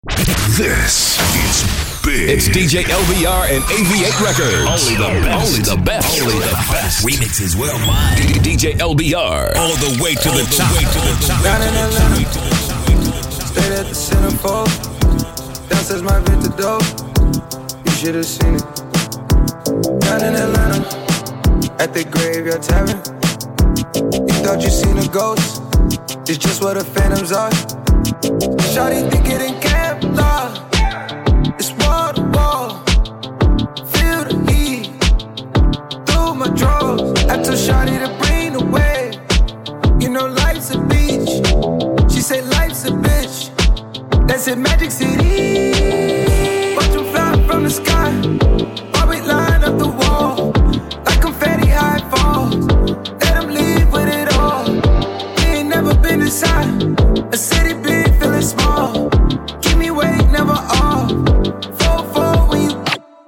This is big. It's DJ LBR and AV8 Records. Only the best. Only the best. Only the best. Remixes worldwide. DJ LBR. All the way to the top. Down in Atlanta, stayed at the Centerfold. Downstairs my vintage dope. You should have seen it. Down in Atlanta, at the Graveyard Tavern. You thought you seen a ghost. It's just what the phantoms are. Shawty think it in Kevlar. It's wall to wall. Feel the heat through my drawers. I told Shawty to bring the wave. You know life's a beach. She say life's a bitch. That's in Magic City. Watch them fly from the sky. While we line up the wall. Like confetti high falls. Let them leave with it all. We ain't never been inside a city big, feeling small. Keep me awake, never off. 4-4 when you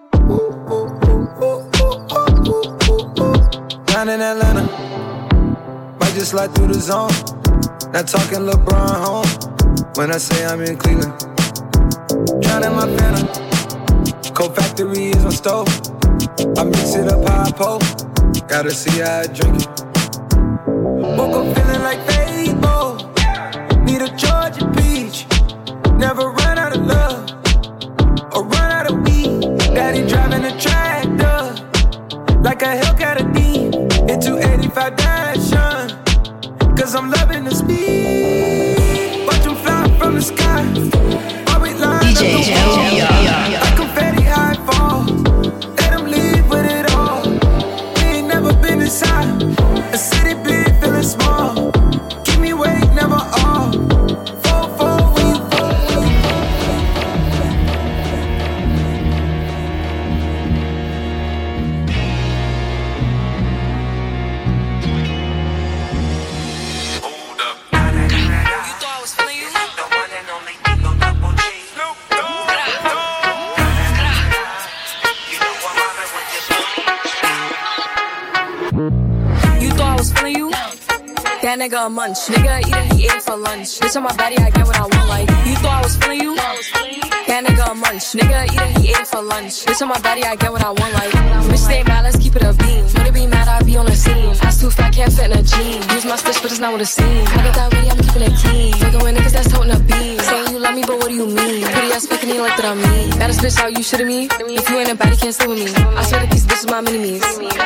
down in Atlanta. Might just slide through the zone. Not talking LeBron home. When I say I'm in Cleveland. Drowning my phantom. Cold Factory is my stove. I mix it up how I post. Gotta see how I drink it. Woke up feeling like Fable. Need a Georgia peach. Never run out of love or run out of weed. Daddy driving a tractor like a Hellcat a D into 85 Dashin'. Cause I'm loving the speed. Watch them fly from the sky. While we line DJ up the wall. Like confetti high falls. Let them leave with it all. We ain't never been inside a city big, feeling small. Keep me awake, never off. 4-4 when you that nigga a munch. Nigga eat it, he ate it for lunch. Bitch on my body, I get what I want. Like, you thought I was feeling you? That nigga a munch. Nigga eat it, he ate it for lunch. Bitch on my body, I get what I want. Like, bitch stay mad, let's keep it a beam. Would it be mad, I be on the scene. Ass too fat, can't fit in a jean. Use my stitch, but it's not what it seems. I got that ready, I'm keeping it clean. Fucking with niggas that's toting a beam. Saying you love me, but what do you mean? Pretty ass fucking me like that I'm mean. Baddest bitch out, you shitting me? If you ain't a baddie, can't stay with me. I swear that these bitches my mini-me's.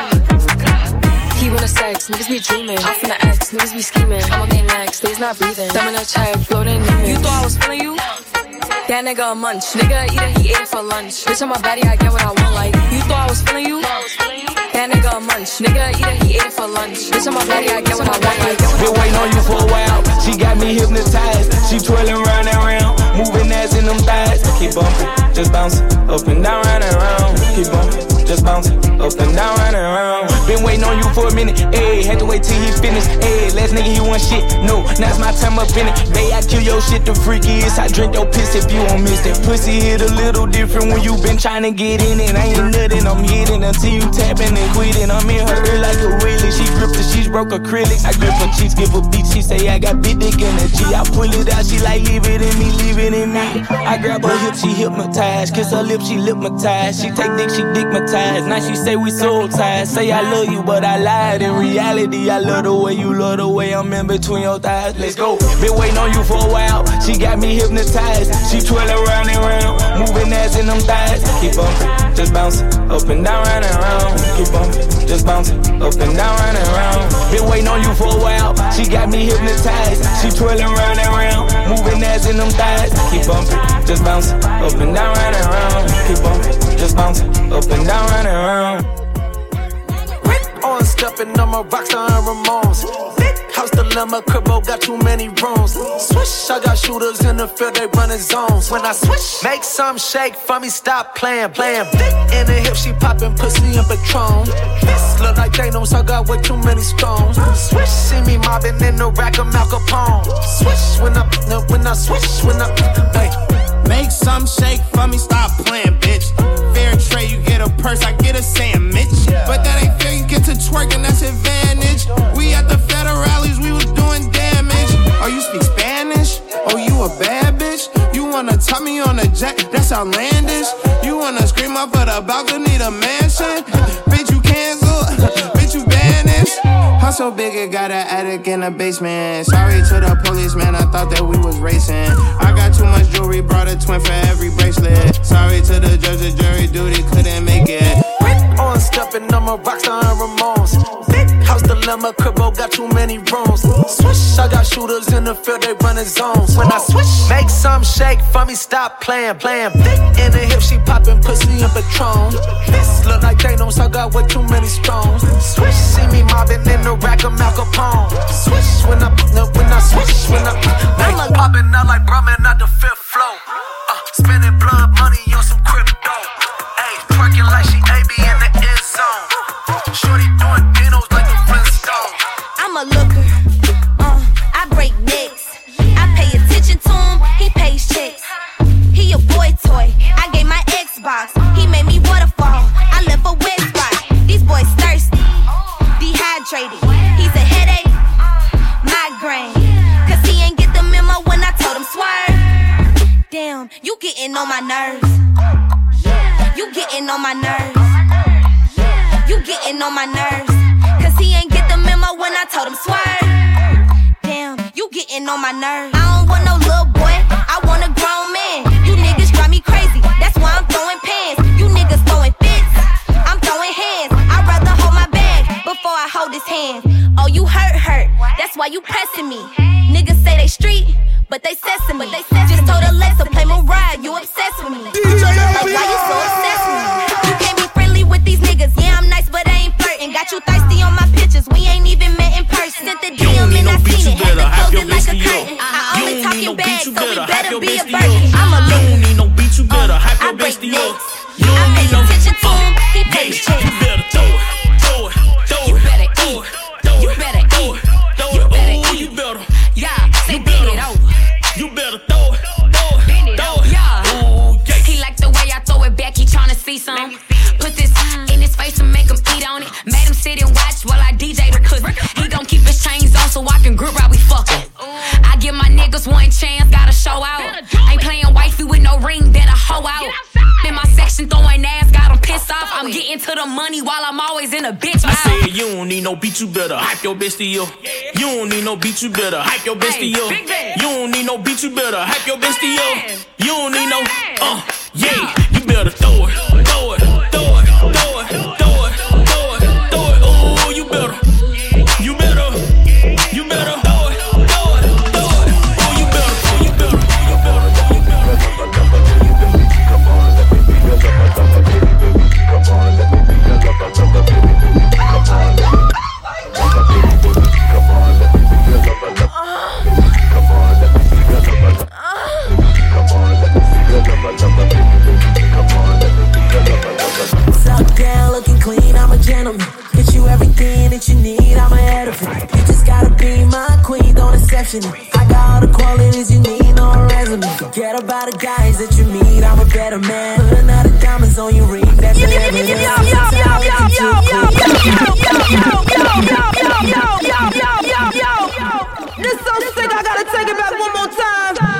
He wanna sex, niggas be dreaming. I'm from the X, niggas be scheming. I'm on their next, they's not breathing. Thumb in a check, floating in it. You thought I was feeling you? That nigga a munch. Nigga eat it, he ate it for lunch. Bitch on my body, I get what I want. Like, you thought I was feeling you? That nigga a munch. Nigga eat it, he ate it for lunch. Bitch on my body, I get what I want. Like, been waiting on you for a while. She got me hypnotized. She twirling round and round, moving ass in them thighs. Keep bumping, just bouncing, up and down, round and round. Keep bumping, just bouncing, up and down, round and round. Been waiting on you for a minute, ayy. Had to wait till he finished, ayy. Last nigga he want shit, no. Now it's my time up in it. Bae, I kill your shit, the freakiest. I drink your piss if you won't miss that. Pussy hit a little different when you been trying to get in it. I ain't nothing, I'm hitting until you tapping and quitting. I'm in her ear like a wheelie. She grip the sheets, broke acrylic. I grip her cheeks, give her beat. She say I got big dick energy. I pull it out, she like leave it in me, leave it in me. I grab her hip, she hypnotized. Kiss her lip, she lipmatized. She take dick, she dickmatized. Now she say we soul ties. Say I love you, but I lied. In reality, I love the way you love the way I'm in between your thighs. Let's go. Been waiting on you for a while. She got me hypnotized. She twirling round and round, moving ass in them thighs. Keep bumping, just bouncing, up and down, round and round. Keep bumping, just bouncing, up and down, round and round. Been waiting on you for a while. She got me hypnotized. She twirling round and round, moving ass in them thighs. Keep bumping, just bouncing, up and down, round and round. Keep bumping, just bouncing, up and down, round and round. On stepping on my rockstar and Ramones. House dilemma, cribbo got too many rooms. Swish, I got shooters in the field, they running zones. When I switch, make some shake for me, stop playing. In the hip, she popping pussy and Patron. This look like Thanos, I got way too many stones. Swish, see me mobbing in the rack of Mal Capone. Swish, when I switch, hey. Make some shake for me, stop playing, bitch. Fair trade, you get a purse, I get a sandwich. But that ain't fair, you get to twerking, that's advantage. We at the federales, we was doing damage. Oh, you speak Spanish? Oh, you a bad bitch? You wanna top me on the jet, that's outlandish. You wanna scream up for the balcony, the mansion? Bitch, you cancel, bitch, you banished. House so big, it got an attic in the basement. Sorry to the policeman, I thought that we was racing. I got too much jewelry, brought a twin for every bracelet. Sorry to the judge, the jury duty couldn't make it. On stepping, I'm a rockstar and Ramones. Big house dilemma, cribbo got too many rooms. Swish, I got shooters in the field, they running zones. When I switch, make some shake for me, stop playing. Thick in the hip, she popping pussy and Patron. This look like Thanos, I got way too many stones. Swish, see me mobbing in the rack of Mal Capone. Swish, when I swish, I'm popping out like Brahmin out the fifth floor. Spending blood money on some crypto. Ayy, twerking like she AB in the end zone. Shorty doing dinos like the Flintstones. I'm a looker, I break necks. I pay attention to him, he pays checks. He a boy toy, I gave my Xbox. He made me waterfall, I left a wet spot. These boys thirsty, dehydrated. He's a headache, migraine. Cause he ain't get the memo when I told him swerve. Damn, you getting on my nerves. You getting on my nerves. You getting on my nerves. Cause he ain't get the memo when I told him swerve. Damn, you getting on my nerves. I don't want no little boy, I want a grown man. You niggas drive me crazy, that's why I'm throwing pants. You niggas throwing fits, I'm throwing hands. I'd rather hold my bag before I hold his hand. Oh, you hurt, that's why you pressing me. Niggas say they street, but they sesame. Just told Alexa, play Mariah, you obsessed with me. Like, why you so obsessed with me? You can't be friendly with these niggas. Yeah, I'm nice, but I ain't flirting. Got you thirsty on my pictures, we ain't even met in person. Sent the DM and I seen it, had to close it like a curtain. I only talk in bags, so we better be a Birkin. I'm a loser. You don't need no beat, you better hype your bestie up. You don't need no attention to him, he pays checks. You better throw it. You better eat. You better eat. You better eat. You better. Yeah, say bend it over. You better throw it. Bend it over. Yeah. He like the way I throw it back, he tryna see some. Put this in his face and make him eat on it. Made him sit and watch while I DJ the cookie. He gon' keep his chains on so I can grip while we fuckin'. I give my niggas one chance, gotta show out. Ain't playing wifey with no ring, better hoe out. In my section throwing ass, got him pissed off. I'm getting to the money while I'm always in a bitch mouth. I said you don't need no beat, you better hype your bestie up. You don't need no beat, you better hype your bestie up. You don't need no beat, you better hype your bestie up. You don't need no, yeah, you better throw it. Oh, you better throw it. Oh, you better. Suck down, looking clean, I'm a gentleman. Get you everything that you need, I'm ahead of it. You just gotta be my queen, don't exception it. I got all the qualities you need, no resume. Forget about the guys that you meet, I'm a better man. Put another diamonds on your ring, that's the evidence. This so sick, I gotta take it back one more time.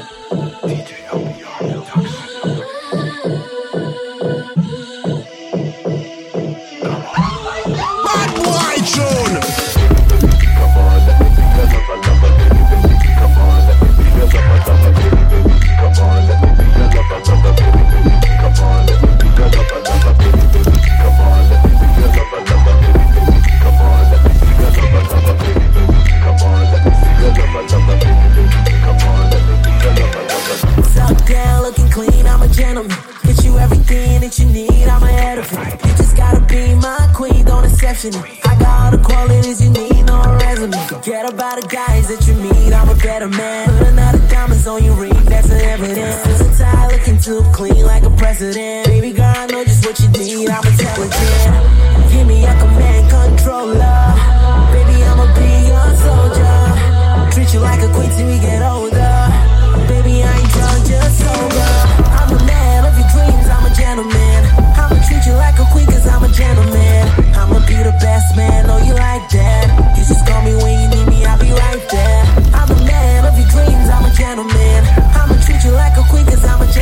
Suck down, looking clean, I'm a gentleman. Get you everything that you need, I'm ahead of it. You just gotta be my queen, don't exception it. I got all the qualities you need, no resume. Forget about the guys that you meet, I'm a better man. Put another diamonds on your ring, that's the evidence. Suicide looking too clean like a president. Baby girl, I know just what you need, I'm intelligent. Give me a command controller. Baby, I'ma be your soldier. Treat you like a queen till we get older. Baby, I ain't drunk, just sober. I'm the man of your dreams, I'm a gentleman. I'ma treat you like a queen cause I'm a gentleman. I'ma be the best man, know you like that. You just call me when you need me, I'll be right there. I'm the man of your dreams, I'm a gentleman. I'ma treat you like a queen cause I'm a gentleman.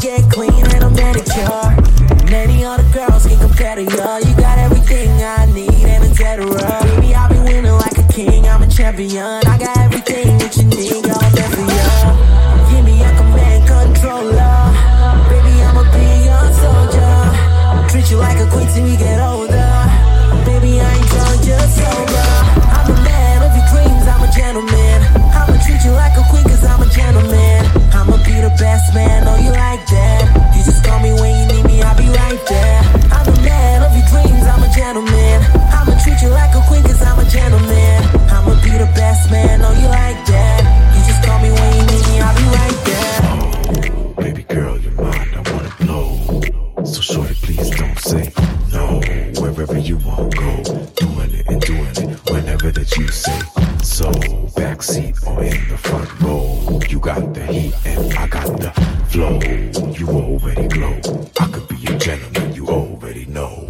get clean and a manicure. Many other girls can compare to you. You got everything I need and a cetera. Baby, I'll be winning like a king, I'm a champion. I got everything that you need, girl, I'm there for you. Give me a command controller. Baby, I'ma be your soldier. Treat you like a queen till we get older. Baby, I ain't drunk, just sober. I'm a man of your dreams, I'm a gentleman. I'ma treat you like a queen cause I'm a gentleman. I'ma be the best man, know you like that. You just call me when you need me, I'll be right there. I'm a man of your dreams, I'm a gentleman. I'ma treat you like a queen cause I'm a gentleman. I'ma be the best man, know you like that. You just call me when you need me, I'll be right there. Oh, baby girl, you're mine, I wanna blow. So shorty, please don't say no. Wherever you want, go. Doing it and doing it whenever that you say so. Backseat or in the front row. You got the heat and I got the flow. You already glow. I could be a gentleman, you already know.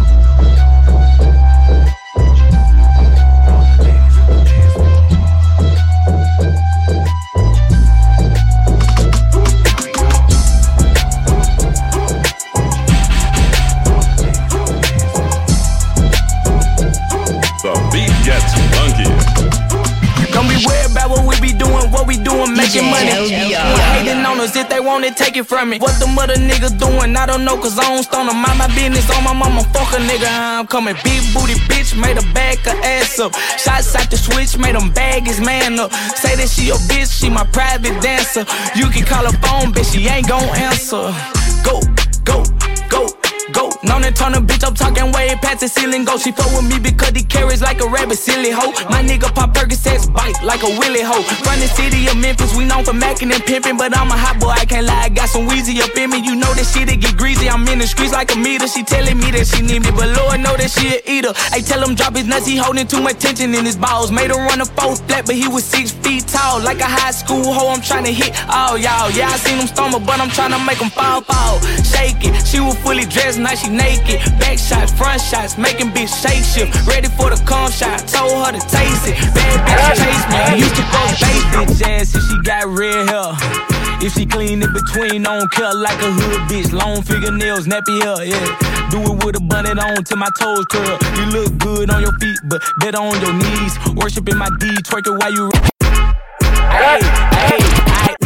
Making money. Hating on us if they want it, take it from me. What the mother niggas doing, I don't know, cause I don't stone them. Mind my business on my mama, fuck a nigga. I'm coming big booty bitch, made her back her ass up. Shots out the switch, made him bag his man up. Say that she your bitch, she my private dancer. You can call her phone, bitch, she ain't gon' answer. Go, go, go. Go, known and turn a bitch up, talking way past the ceiling. Go, she fuck with me because he carries like a rabbit, silly hoe. My nigga pop Percocets, bite like a willy hoe. From the city of Memphis, we known for macking and pimping, but I'm a hot boy, I can't lie. I got some Weezy up in me, you know that shit, it get greasy. I'm in the streets like a meter. She telling me that she need me, but Lord know that she a eater. I tell him drop his nuts, he holding too much tension in his balls. Made him run a 4 flat, but he was 6 feet tall. Like a high school hoe, I'm trying to hit all y'all. Yeah, I seen him stumble, but I'm trying to make him fall. Shake it, she was fully dressed, now she naked. Back shots, front shots, making bitch shake shift. Ready for the cum shot, told her to taste it. Bad bitch chase me, I used to go base bitch ass if she got red hair. If she clean in between, don't care like a hood bitch. Long fingernails, nappy hair, yeah. Do it with a bonnet on till my toes curl. You look good on your feet, but better on your knees. Worshiping my D, twerk it while you. Hey, hey, hey.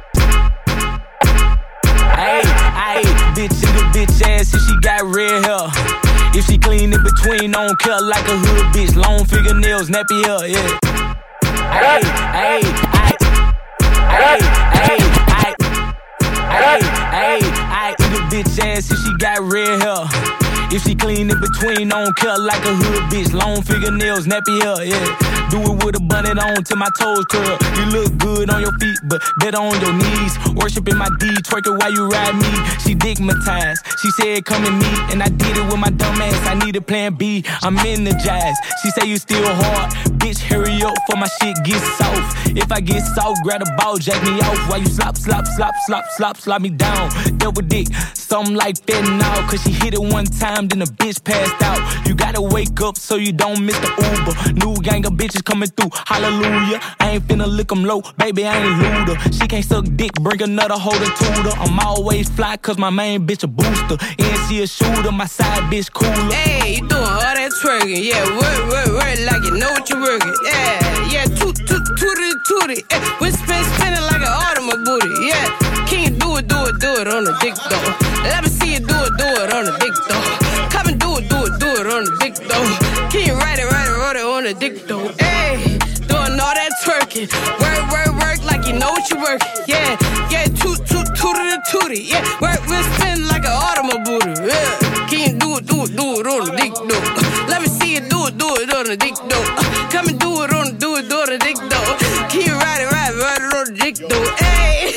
Hey, bitch in the bitch ass if she got red hair. If she clean in between, don't care like a hood bitch. Long fingernails, nappy hair, yeah. Hey, hey, hey. Hey, hey, hey. Hey, hey, hey. In the bitch ass if she got red hair. If she clean in between, don't care like a hood bitch. Long fingernails, nappy hair, yeah. Do it with a bonnet on till my toes curl. You look good on your feet, but better on your knees. Worshiping my D, twerk it while you ride me. She digmatized, she said come and meet, and I did it with my dumb ass. I need a plan B, I'm energized. She say you still hard, bitch hurry up for my shit get soft. If I get soft, grab a ball, jack me off. While you slop, slop, slop, slop, slop, slop me down. Double dick, something like that now. Cause she hit it one time, then the bitch passed out. You gotta wake up so you don't miss the Uber. New gang of bitches coming through, hallelujah. I ain't finna lick them low, baby, I ain't looter. She can't suck dick, bring another holder to her. I'm always fly cause my main bitch a booster. And she a shooter, my side bitch cooler. Hey, you doing all that twerking, yeah, work like you know what you're working. Yeah, tootie, we spinning like an automobile booty, yeah. Can you do it on the dick though? Let me see you do it on the dick though. Come and do it on the dick though. Can you ride it on the dick though? Hey, doing all that twerking, work like you know what you're working, yeah, tootie, yeah, work we spinning like an automobile booty, yeah. Can you do it on the dick though? Let me see you do it on the dick though. Come and do it on the dick though. Can you ride it on the dick though? Hey.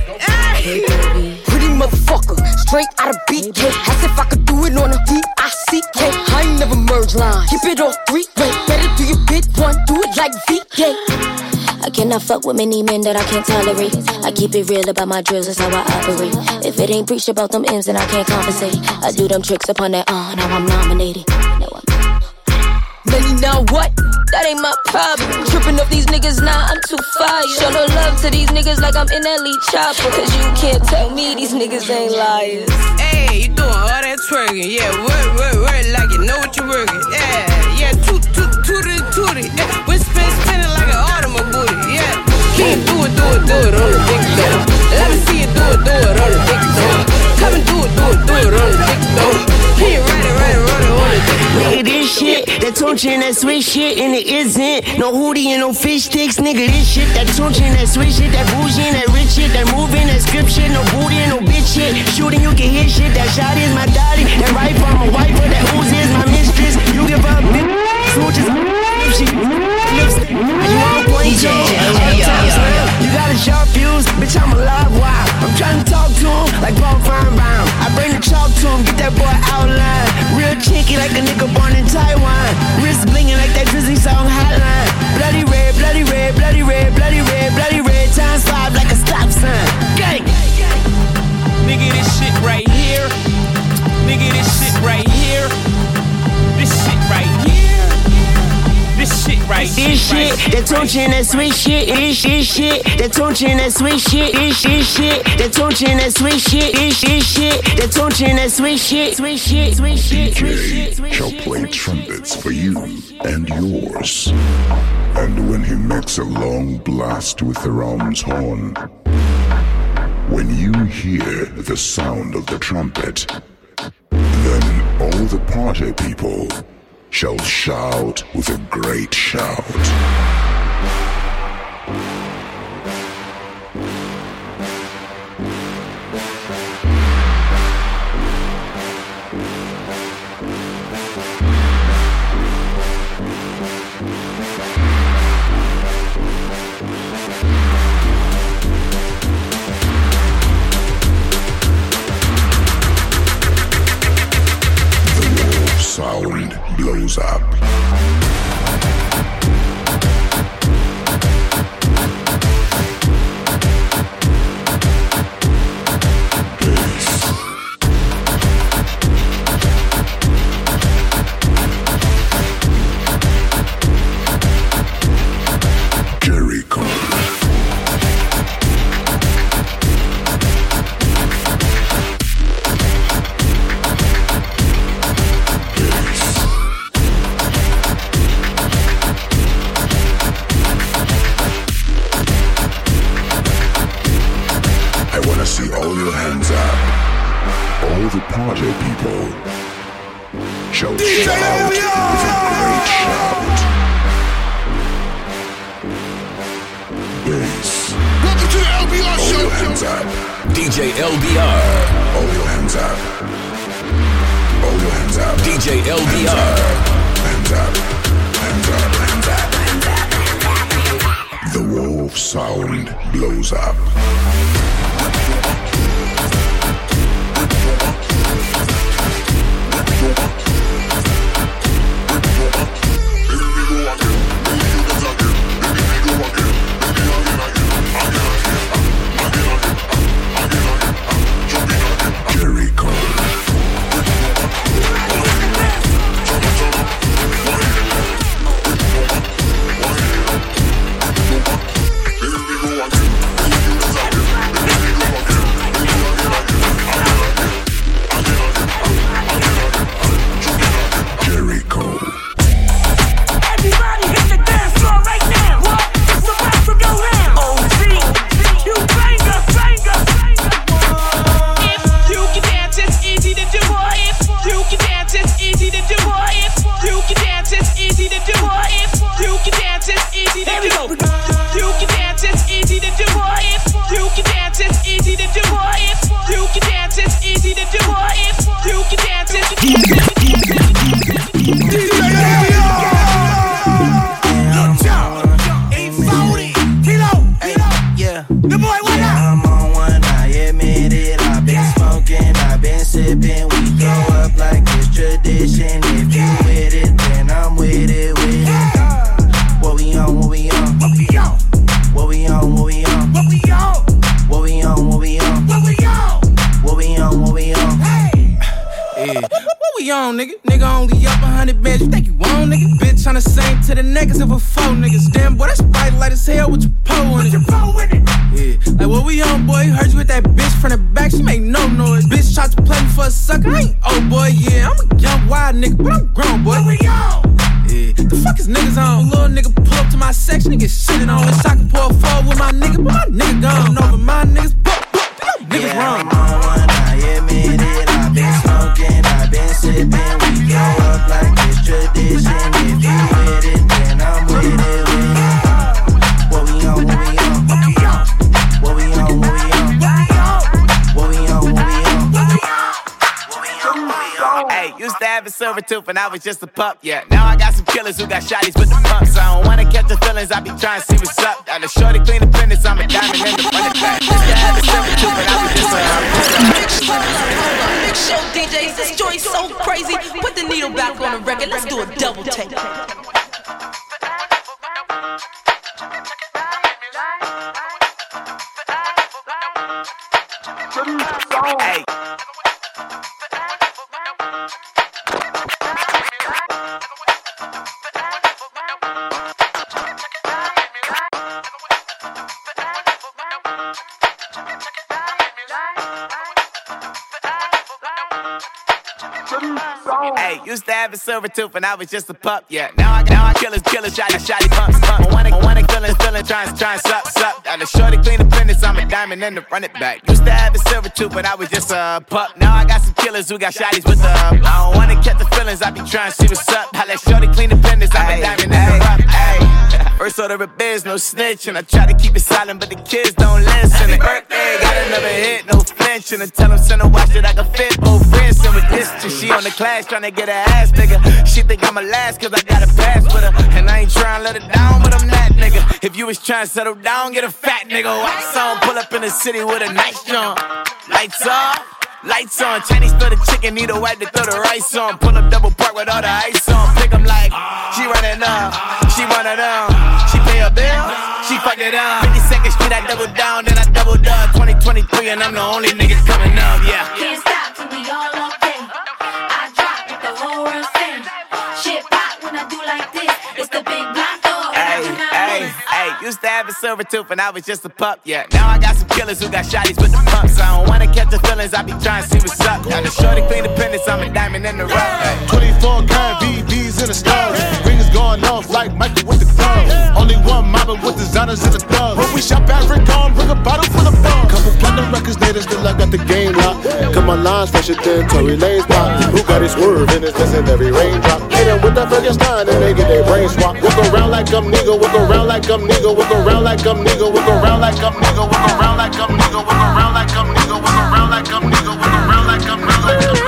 Pretty motherfucker, straight out of BK. As if I could do it on a VICK. I ain't never merge line. Keep it all 3-way. Better do your bit one, do it like VK. I cannot fuck with many men that I can't tolerate. I keep it real about my drills, that's how I operate. If it ain't preached about them M's, then I can't compensate. I do them tricks upon that, now I'm nominated. Many now what? that ain't my problem. Tripping off these niggas, nah, I'm too fire. Show no love to these niggas like I'm in that lead chopper. Cause you can't tell me these niggas ain't liars. Hey, you doing all that twerking, yeah, work like you know what you're working. Yeah, tootie, whisper spinning like an automobile, yeah. Can't do it on the big door. Let me see you do it on the big door. Come and do it on the big door. Can't ride it on the big door. Nigga, this shit, that Tunechi and that sweet shit, and it isn't no hoodie and no fish sticks. Nigga, this shit, that Tunechi and that sweet shit, that bougie and that rich shit, that moving, that script shit, no booty and no bitch shit. Shooting, you can hit shit, that shot is my daddy, that rifle, I'm a wiper, that ooze is my mistress. You give up, bitch, switches, she lipstick. You on point, Joe, you got a sharp fuse, bitch, I'm a live wire. I'm trying to talk to him like Paul Feinbaum. I bring the chalk to him, get that boy outline. Real cheeky like a nigga born in Taiwan. Wrist blinging like that Drizzy song hotline. Bloody red, bloody red, bloody red, bloody red, bloody red. Times 5 like a stop sign. Gang! Nigga, this shit right here. Nigga, this shit right here. This shit right here. This shit right here. This shit, that Tunechi and that sweet shit. This shit, that Tunechi and that sweet shit. This shit, that Tunechi and that sweet shit. This shit, that Tunechi and that sweet shit. Sweet shit, sweet shit, sweet shit. DJ shall play trumpets for you and yours. And when he makes a long blast with the ram's horn, when you hear the sound of the trumpet, then all the party people shall shout with a great shout. Sound blows up. DJ LBR. All your hands up. All your hands up. DJ LBR. Hands up. Hands up. Hands up. Hands up. The wolf sound blows up. we on, nigga? Nigga only up 100 bands, you think you on, nigga? Bitch tryna sing to the neck as if we're 4 niggas. Damn, boy, that's bright light as hell with your pole in it. Yeah, like what we on, boy? Heard you with that bitch from the back, she make no noise. Bitch tried to play me for a sucker, I ain't old boy, yeah. I'm a young wild nigga, but I'm grown, boy. What we on? Yeah, the fuck is niggas on? Little nigga pull up to my section and get shitted on. Wish I could pour a 4 with my nigga, but my nigga gone. Over my niggas, niggas wrong. I'm on one, I admit it. I've been smoking, I've been sipping. We go up like it's tradition. If you with it, then I'm with it. What we on, what we on? What we on, what we on? What we on, what we on? Hey, used to have a silver tooth and I was just a pup, yeah. Now I got some killers who got shotties with the pumps. I don't wanna catch the feelings, I be trying to see what's up. Got a shorty clean the fitness, I'm a diamond in the front of back. Used to have a silver tooth and I was just a pup. Big show DJs, this joint's so crazy. Put the needle back on the record, let's do a double take. Hey. Hey, used to have a silver tooth and I was just a pup, yeah. Now I killers, shotty pumps. I wanna feelings, trying sup. Got a shorty clean the fitness, I'm a diamond in the run it back. Used to have a silver tooth but I was just a pup. Now I got some killers who got shotties with the I don't wanna catch the feelings, I be trying to see what's up. I let shorty clean the fitness, I'm a diamond in the rough. First order of biz, no snitch, and I try to keep it silent, but the kids don't listen. Happy birthday, got another hit, no flinch, and I tell them send a watch that I can fit both wrists. And with this, she on the class trying to get her ass bigger. She think I'm a last cause I got a pass with her, and I ain't trying to let her down, but I'm that nigga. If you was trying to settle down, get a fat nigga. Wax on, pull up in the city with a nice jump. Lights off. Lights on, Chinese throw the chicken, need a wipe to throw the rice on. Pull up double park with all the ice on. Pick 'em like, she running up, she one of them. She pay a bill, she fuck it up. 52nd Street, I double down, then I doubled up. 2023 and I'm the only nigga coming up, yeah. Can't stop till we all up in. I drop with the whole world sing. Shit pop when I do like this. It's the big block door. Hey, used to have a silver tooth and I was just a pup, yeah. Now I got some killers who got shotties with the pumps. I don't wanna catch the feelings, I be trying to see what's up. Got a shorty clean the fitness, I'm a diamond in the rough. 24 karat VVs in the stars. Rings going off like Michael with the club. Only one mobbing with designers in the club. When we shop at Rick on, bring a bottle full of bug. Couple platinum records later, still I got the game locked. Cut my lines fresher than Tory Lane's pop. Who got his swerve in his in every raindrop? Hit them with that Frankenstein and they get their brain swap. Walk around like I'm nigga, walk around like I'm nigga, walk around like I'm nigga, walk around like I'm nigga, walk around like I'm nigga, walk around like I'm nigga, walk around like I'm nigga, walk around like I'm nigga.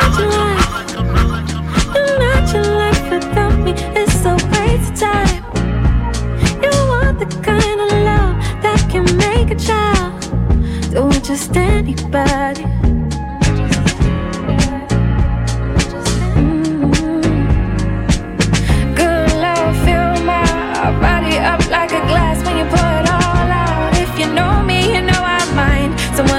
Not your life without me, it's so waste time. You want the kind of love that can make a child do it just anybody. Good love, fill my body up like a glass when you pour it all out. If you know me, you know I mind. Someone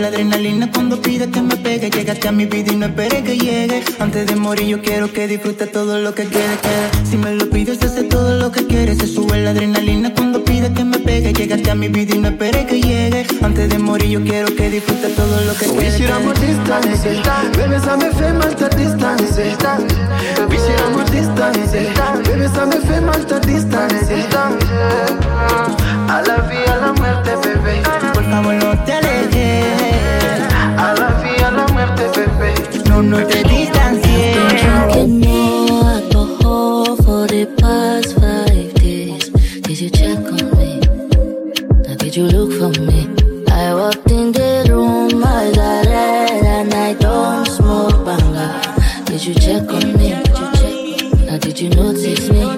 la adrenalina cuando pide que me pegue. Llegaste a mi vida y no esperé que llegue. Antes de morir yo quiero que disfrutes todo lo que quede. Si me lo pides, hace todo lo que quieres. Se sube la adrenalina cuando pide que me pegue. Llegaste a mi vida y no esperé que llegue. Antes de morir yo quiero que disfrutes todo lo que quede. We should have more distance, baby, ça me fait mal ta distance. We should have more distance, baby, ça me fait mal ta distance. A la vida, a la muerte, bebé. Por favor no te alejes. A la vida, a la muerte, bebé. No te distancies. Drinking more alcohol for the past 5 days. Did you check on me? Now did you look for me? I walked in the room, eyes are red, and I don't smoke banga. Did you check on me? Now did you notice me?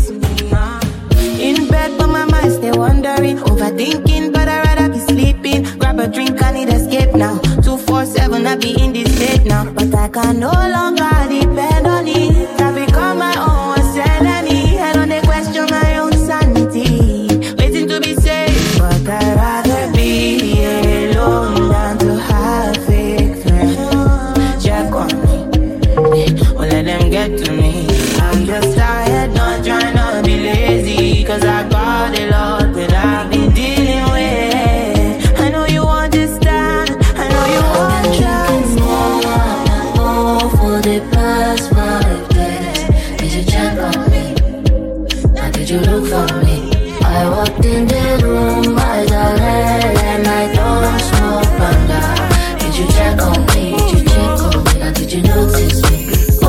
In bed but my mind stay wandering, overthinking but I'd rather be sleeping. Grab a drink, I need escape now. 247, I be in this state now. But I can no longer depend on it. I become my own sanity. I don't question my own sanity. Waiting to be saved, but I'd rather be alone than to have fake friends. Check on me, don't let them get to me. I'm just tired, not trying to be lazy. Cause I got a lot that I've been dealing with. I know you understand, I know you understand. More for the past 5 days. Did you check on me? Now did you look for me? I walked in the room, eyes are red, and I don't smoke banga. Did you check on me? Did you check on me? Now did you notice me?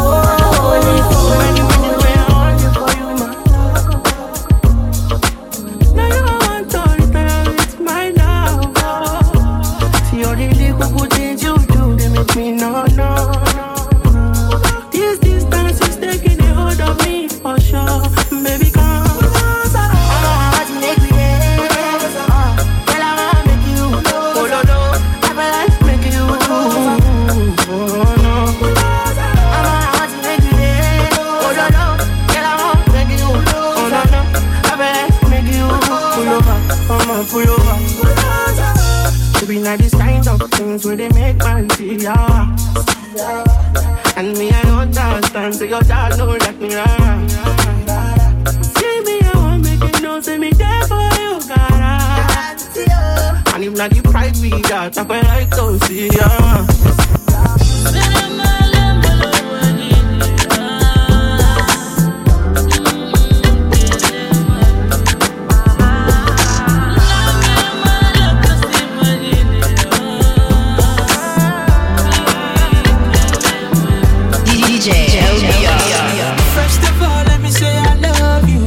These kind of things where they make man see ya. And me I don't understand, so your dad don't let me run. See me, I won't make it know, say me there for you, God. And if not the pride we got, I feel like to see ya. First of all, let me say I love you.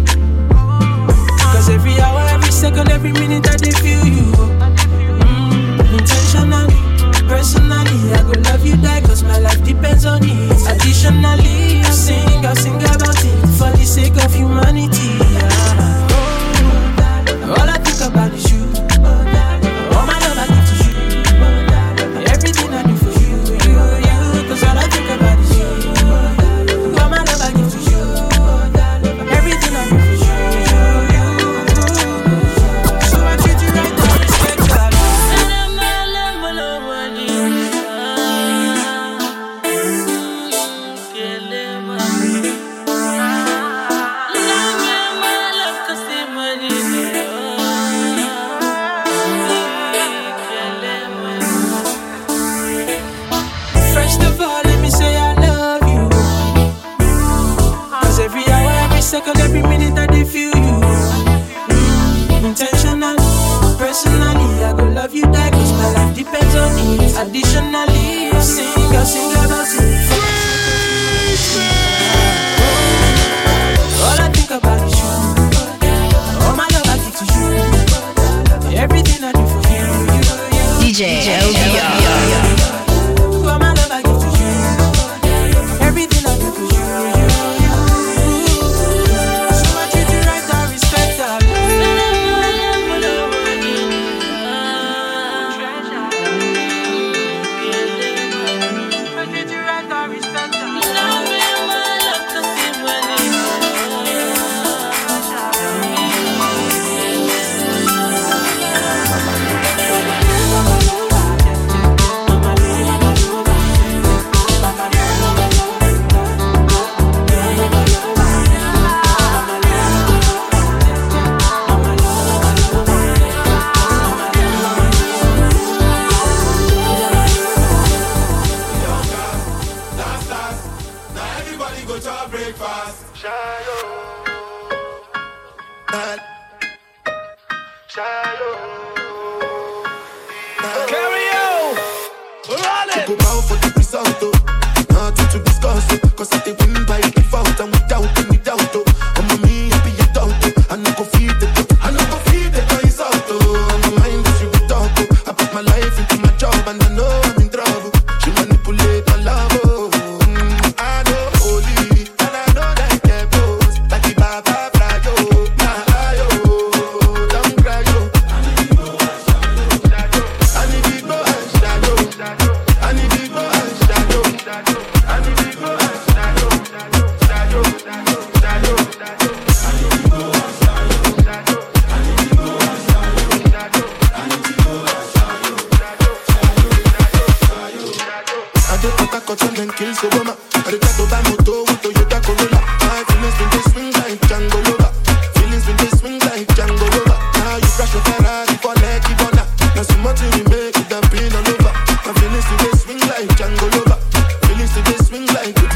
Cause every hour, every second, every minute I do feel you. Intentionally, personally, I go love you die. Cause my life depends on it. Additionally, I sing about it. For the sake of humanity. All I think about is you. All my love I give to you. Everything I do for you. Cause all I think about is you. Second, every minute I do feel you. Intentional, personally, I go love you die. Cause my life depends on it. Additionally, I sing about it. All I think about is you. All my love I give to you. Everything I do for you. DJ LBR. All my love I give to you. Everything I do for you. breakfast. Carry on, run it. Go bow for the result, nothing to discuss, cause I did win by default and without any doubt. I'm a me happy adult, I no go feed the guys out. My mind is you talk, I put my life into my job and I know I'm in trouble. She manipulate my love, I know holy and I know that get close. Like the Baba Frayo, my ayo, don't cry yo. I need big boy and shadow, I need big boy and shadow, I need big boy and shadow, shadow, shadow, shadow. I just put a cut and then kill Obama. I just to buy moto with Toyota Corolla. My feelings when they swing like Django Lover. Feelings when they swing like Django Lover. Now you crash your Ferrari for Lucky Bona. Now so much you make it have been all over. My feelings when they swing like Django Lover. Feelings when they swing like the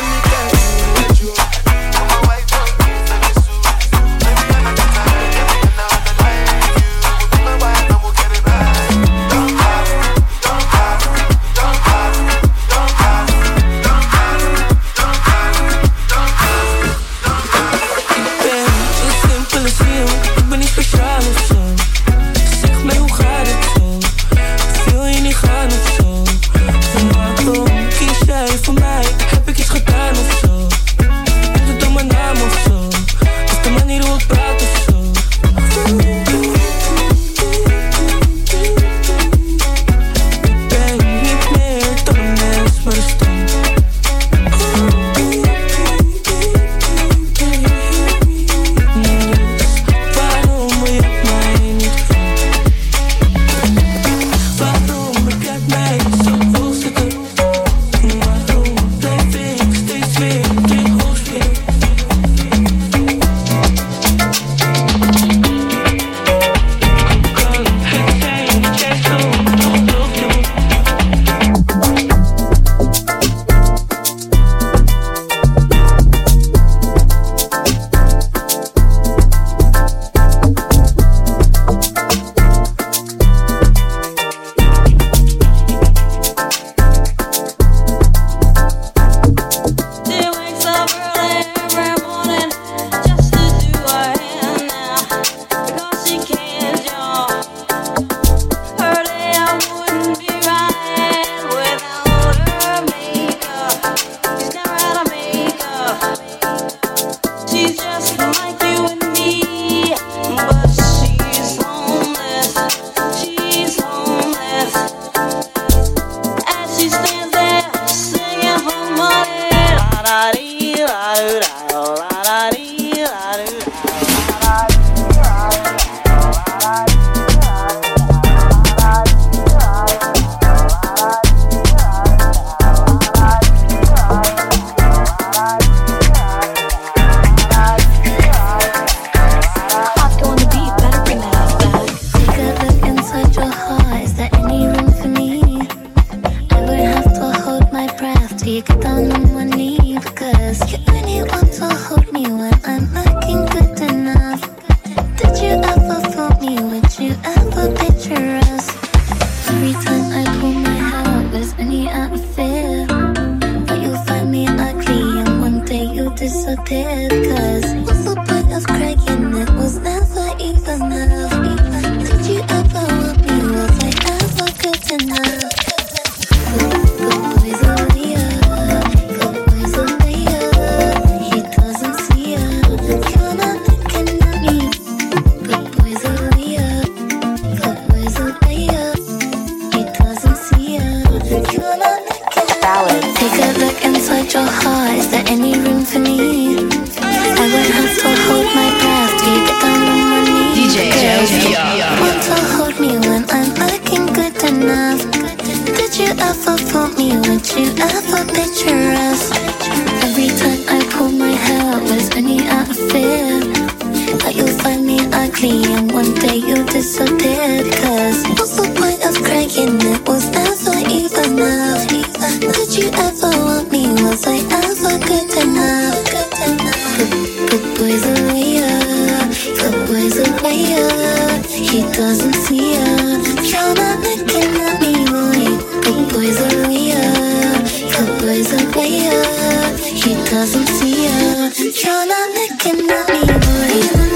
disappeared. Cause what's the point of crying? It was never enough. Did you ever want me? Was I ever good enough? Good boys are weird. Good boys are weird. He doesn't see ya. You're not looking at me. Good boys are weird. Good boys are weird. He doesn't see ya. You're not looking at me. Take a look inside your heart. Is there any room for me? I would have to hold my breath till you get down on my knees. DJ LBR. Want to hold me when I'm looking good enough? Did you ever fool me? Would you ever picture us? Every time I pull my hair out, was only out of fear that you'll find me ugly and one day you'll disappear. Cause what's the point of crying? It was never enough. Did you ever want me? Was I ever good enough? boy's a player, he doesn't see ya. You're not looking at me, boy.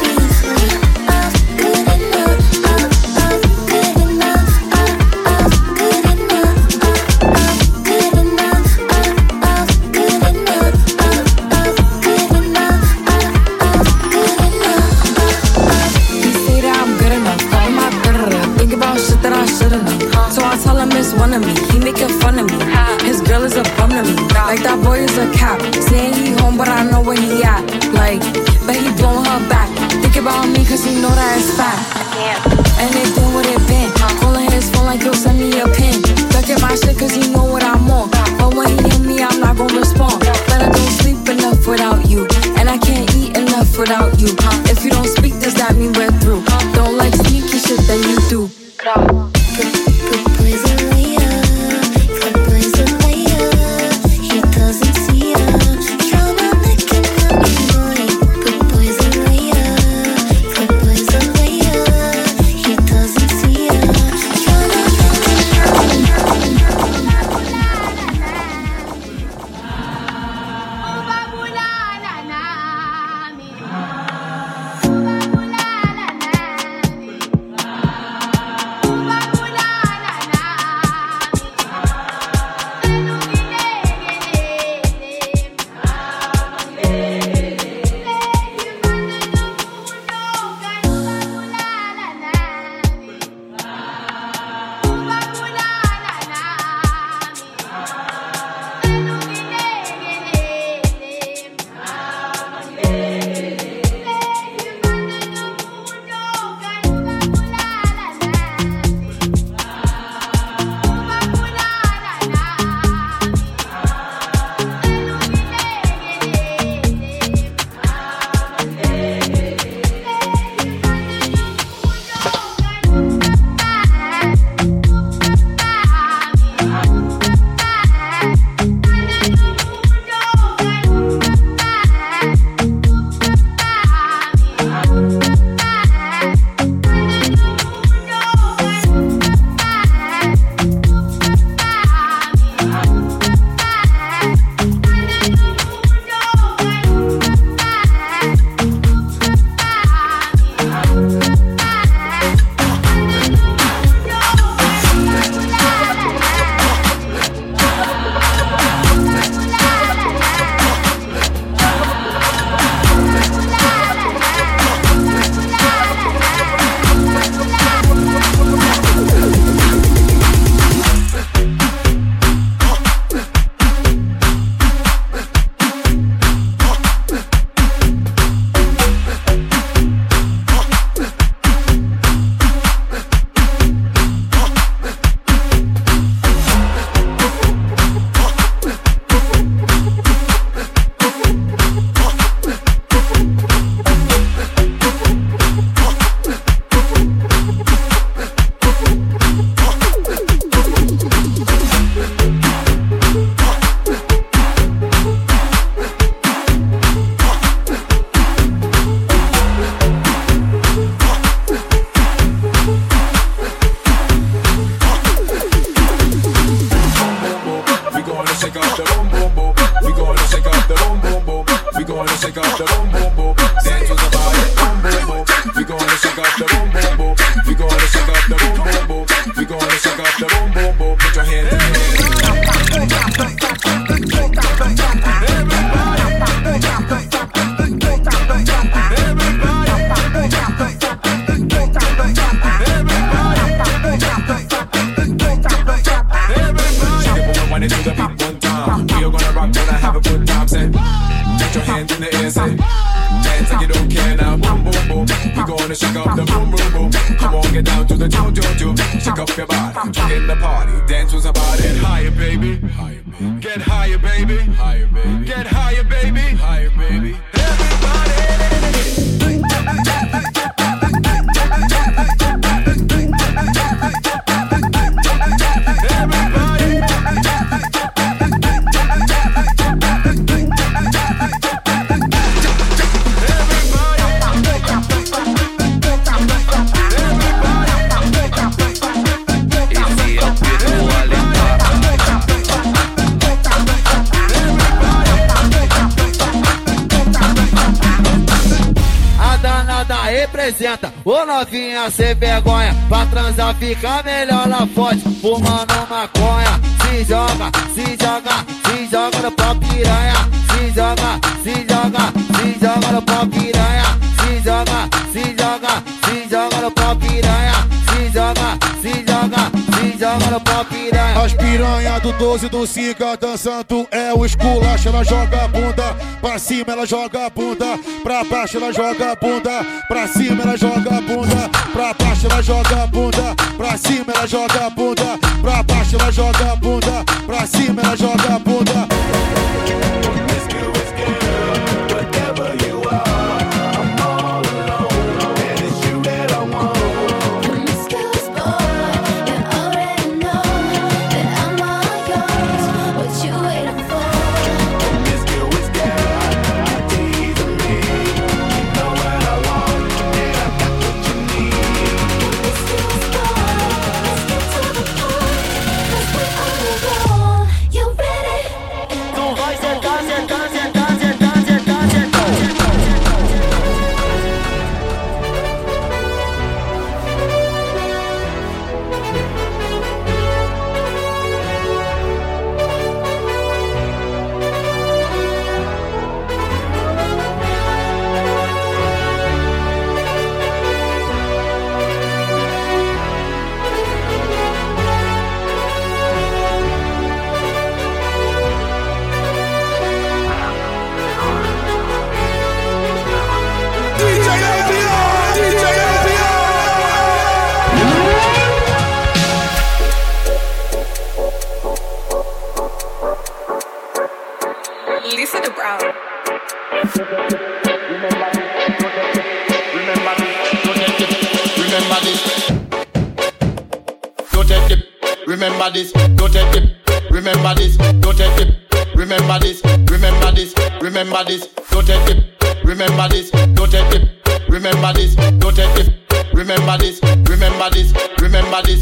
One of me, he making fun of me. His girl is a bum to me. Like that boy is a cap. Saying he home, but I know where he at. Like, but he blowing her back. Think about me, cause he know that it's fat. And they been what it been. Calling his phone like, yo, send me a pin. Ducking my shit cause he know what I'm on. But when he hit me, I'm not gonna respond. But I don't sleep enough without you. And I can't eat enough without you. If you don't speak, does that mean we're through? Don't like sneaky shit that you do. apresenta. Ô novinha sem vergonha, pra transar fica melhor na foto. Fumando maconha, se joga, se joga, se joga no pau piranha. Se joga, se joga, se joga no pau piranha. Se joga, se joga, se joga no pau piranha. Se joga, se joga, se joga no pau piranha. As piranha do 12 do 5 dançando é o esculacho. Ela joga a bunda pra cima, ela joga a bunda pra baixo, ela joga a bunda pra cima, ela joga a bunda pra baixo, ela joga a bunda pra cima, ela joga a bunda pra baixo, ela joga a bunda pra cima, ela joga a bunda. Remember this, don't take it. Remember this, don't take it. Remember this, remember this, remember this, don't take it. Remember this, don't take it. Remember this, don't take it. Remember this, remember this, remember this.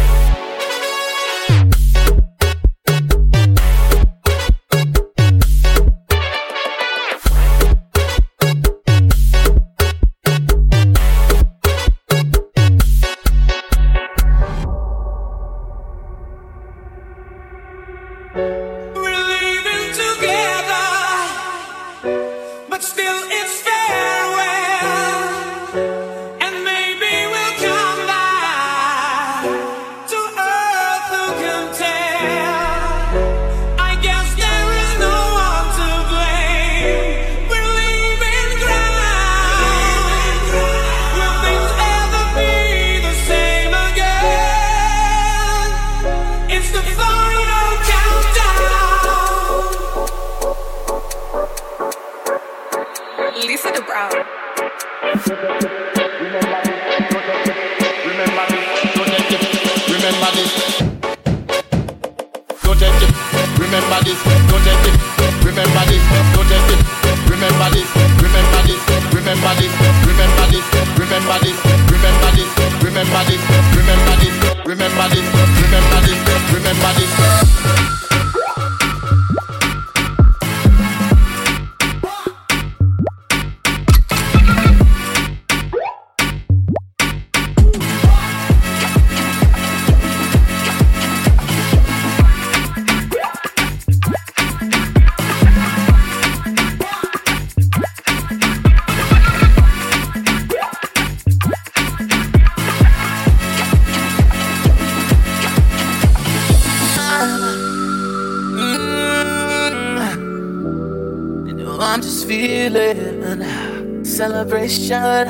I'm just feeling celebration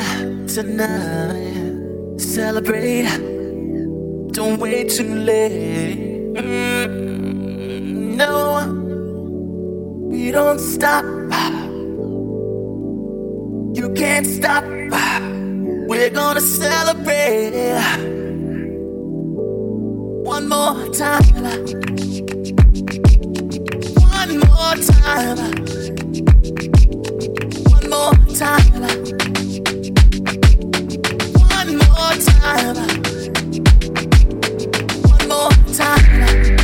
tonight. Celebrate, don't wait too late. No, we don't stop. You can't stop. We're gonna celebrate one more time. One more time. One more time. One more time. One more time.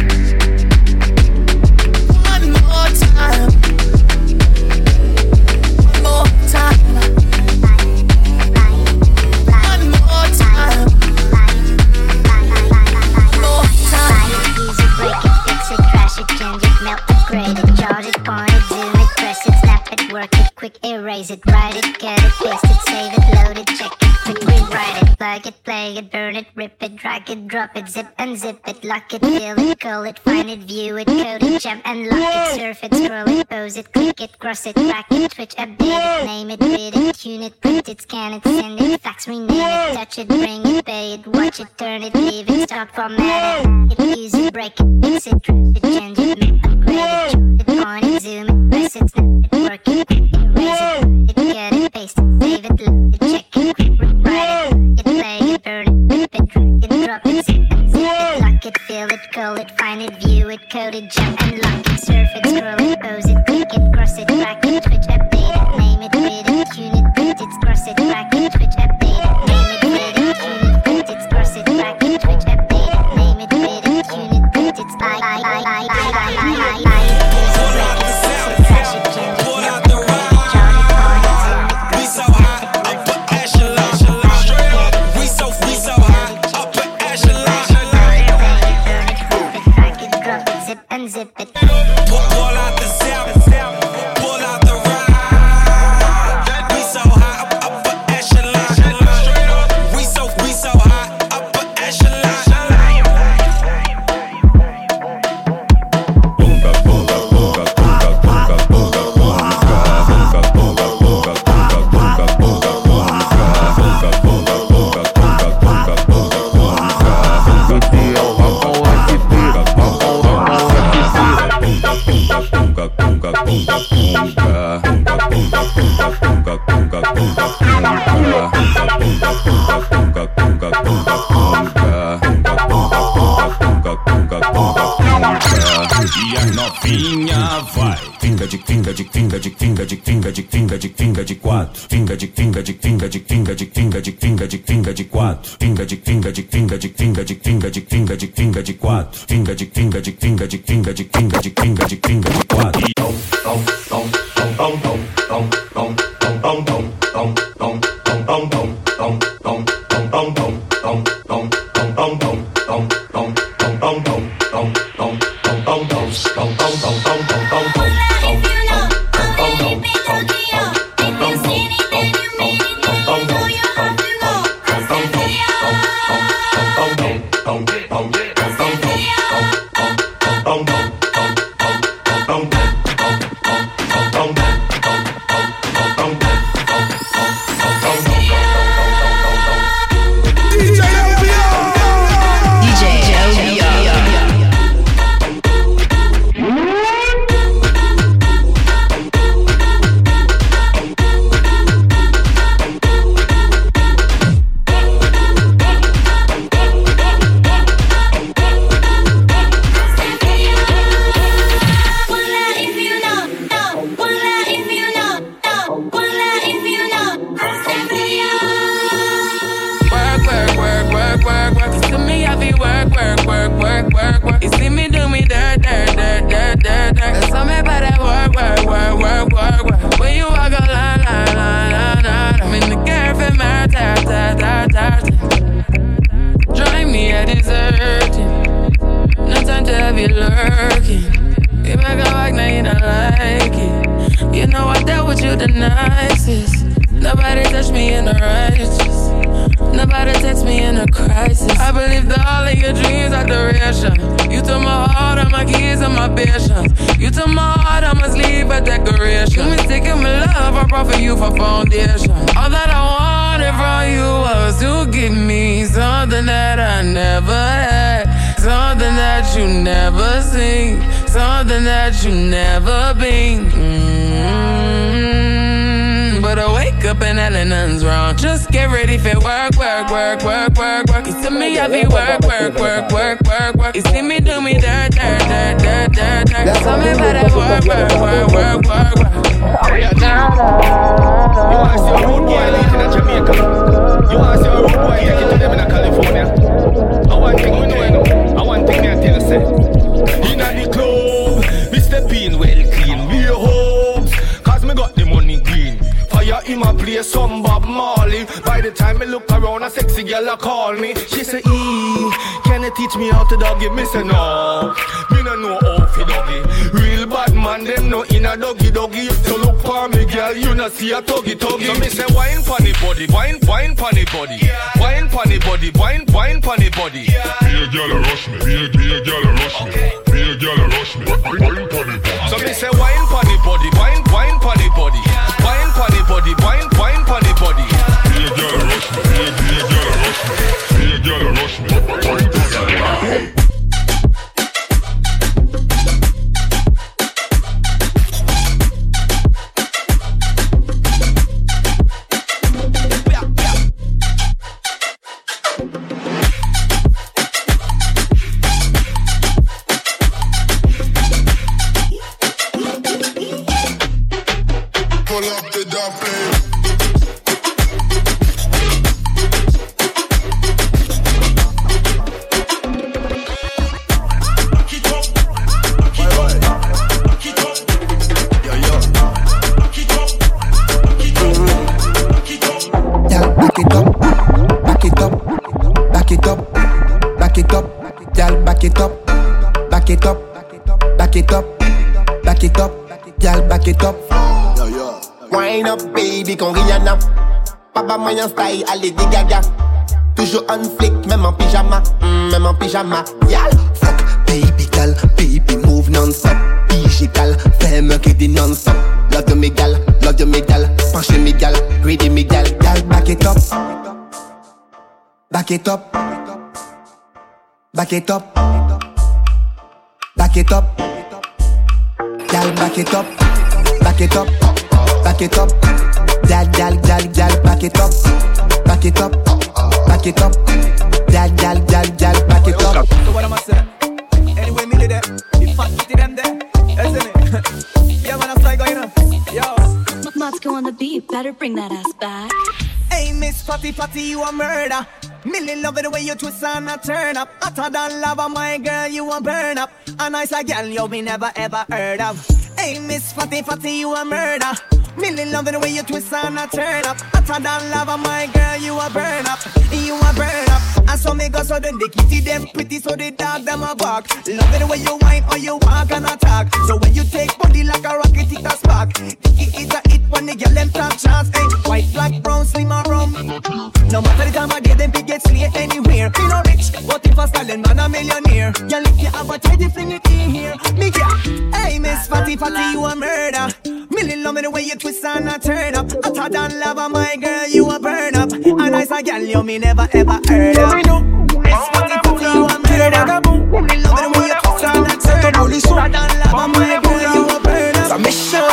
One more time. One more time. quick erase it, write it, cut it, paste it, save it, load it, check it, quick rewrite it, plug it, play it, burn it, rip it, drag it, drop it, zip unzip it, lock it, fill it, call it, find it, view it, code it, jump and lock it, surf it, scroll it, pose it, click it, cross it, track it, twitch, update it, name it, bid it, tune it, print it, scan it, send it, fax, rename it, touch it, bring it, pay it, watch it, turn it, leave it, start, format it, use it, break it, fix it, trash it, change it, make upgrade it, point it, zoom it, press it, snap it, work it, quick erase it, cut it, paste it, save it, load it, check it, quick rewrite it, play it, burn it, rip it, drag it, drop it, zip and zip it, lock it, fill it, call it, find it, view it, code it, jump and lock it, surf it, scroll it, pose it, click it, cross it, track it, twitch, update it, name it, bid it, tune it, print it, cross it, track it, twitch, update it, name it, bid it, tune it, print it, cross it, track it, twitch, update it, name it, bid it, tune it, print it, unzip it. Pull out the zap, pull out the ride. We so high, upper echelon. We so high, upper echelon. E a novinha vai. Finga de quatro. Finga de quatro. Finga de quatro. Finga de quatro. man them no in a doggy. So look for me, girl, you not see a tuggy. So me say wine pon body, wine pon body, wine pon body, wine pon body. Be a girl a rush me, be a girl a rush me, be a girl a rush me. Wine pon body. So me say wine pon body, wine pon body, wine pon body, wine pon body. Be a girl a rush me, be a girl a rush me, be a girl a rush me. Wine pon body. Moyen style, allez dégaga. Toujours on flick, même en pyjama, même en pyjama. Y'all, fuck, baby gal, baby move non-stop. Digital, fais-moi que des non-stop. Love de mes gal, penché mes gal, greedy mes gal. Gal, back it up, back it up, back it up, back it up. Gal, back it up, back it up, back it up. Gal, back it up, back it up, back it up. Gal, back it up. So what am I saying? Anyway, me there, the fat kitty them there, isn't it? Yeah, man, I'm start going on. Yo, Matsko on the beat, better bring that ass back. Hey, Miss Fatty, you a murder. Millie love it the way you twist and I turn up. Hotter than lava, my girl, you a burn up. A nice girl you be never ever heard of. Hey, Miss Fatty, you a murder. Millie love it the way you twist and I turn up. Hotter than lava, my girl, you a burn up. You a burn up. And so me go so then the kitty them pretty, so the dog them a bark. Love it the way you whine or you walk and attack. So when you take body like a rocket, it a spark. It is a hit when the girl them top chance. Hey, white, black, brown, slim or rum. No matter the time I get them, big get slay anywhere. Me no rich, but if I stallion man a millionaire. Girl, if you have a tidy fling it in here. Me girl, hey Miss Fatty, you a murder. Millie love me the way you twist and I turn up. Hotter than lava, my girl, you a burn up. A nice girl, you me never ever heard of. Miss Fatty, you a murder. Millie love me the way you twist and I turn up. Hotter than lava, my girl, you a burn up. Ça méchant.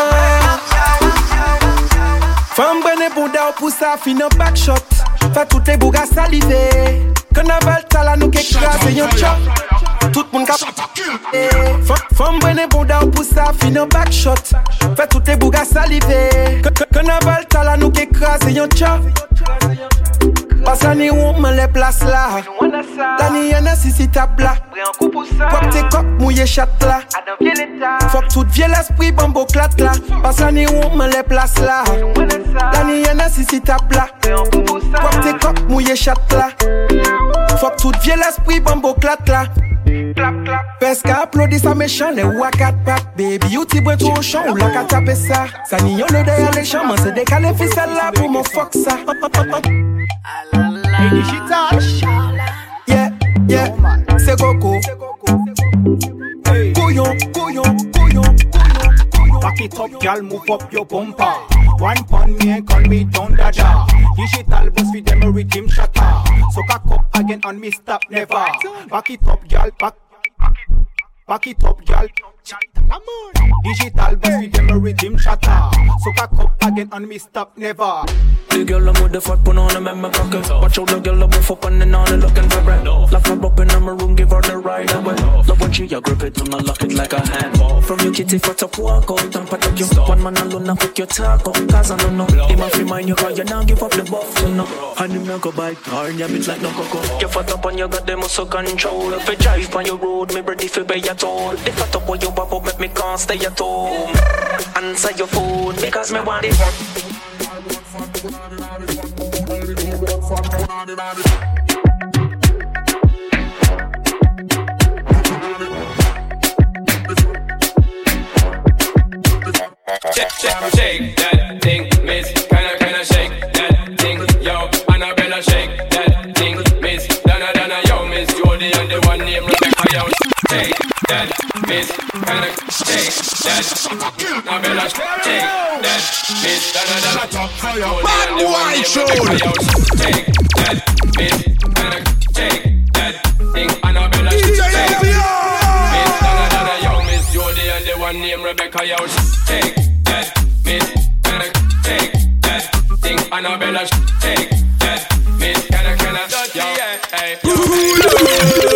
Femme bonne bouda ou pousse à fin un back shot. Fait toutes les bougas saliver. Carnaval tala nous qu'écraser yon chop. Tout le monde cap. Femme bonne bouda ou pousse à fin un back shot. Fait toutes les bougas saliver. Carnaval tala nous qu'écraser yon chop. Parce que ni où me les place là. La ni y'en a si tape là. Quoi que t'es coq mouillé chat là. Faut que tout vieux l'esprit bambo clat là. Parce que ni où me les place là. La ni y'en a si tape là. Quoi que t'es coq mouillé chat là. Faut que tout vieux l'esprit bambo clat là. Parce qu'applaudit ça méchant les wakat pack. Baby you t'y bois tout au champ ou la qu'à taper ça. Ça n'y y'en a derrière les champs. C'est décalé ficelle là pour mon fuck ça. Hey, digital. Yeah, c'est Coco. Couillon. Back it up, girl, move up your bumper. One pon me and call me Don Dada. Digital boss with them a rhythm shatter. So cock up again on me, stop never. Back it up, girl, back it up, girl. Digital boss with them a rhythm shatter. So cock up again on me, stop never. The girl I'm with the fuck put on a member pocket. Watch out the girl I'm fuck on and on and looking for bread. Lock her up in my room, give her the ride away. Love when she a grip it and I lock it like a hand. From your kitty for top walk out and pat up you. One man alone and cook your talk up. Cause I don't know. Him a free mind you cause you now give up the buff you know. And him not go buy car and your bitch like no cocoa. You fat up and you got them muscle control. If you drive on your road, me ready for pay at all. If fat up when you pop up make me can't stay at home. Answer your phone because me want it. shake that thing, miss. Kinda shake that thing, yo. Annabella, shake that thing, miss. Donna, yo, miss. Jody and the one named Rebecca, yo. Shake that, miss. Kinda shake that. Annabella, shake that, miss. Donna, Bad boy, shake that, miss. Kinda shake that thing, Annabella, shake that. Miss. Donna, yo, miss. Jody and the one named Rebecca, yo. Shake that, miss. Kinda shake that thing, Annabella, shake that, miss. Kinda, yo, hey, yo.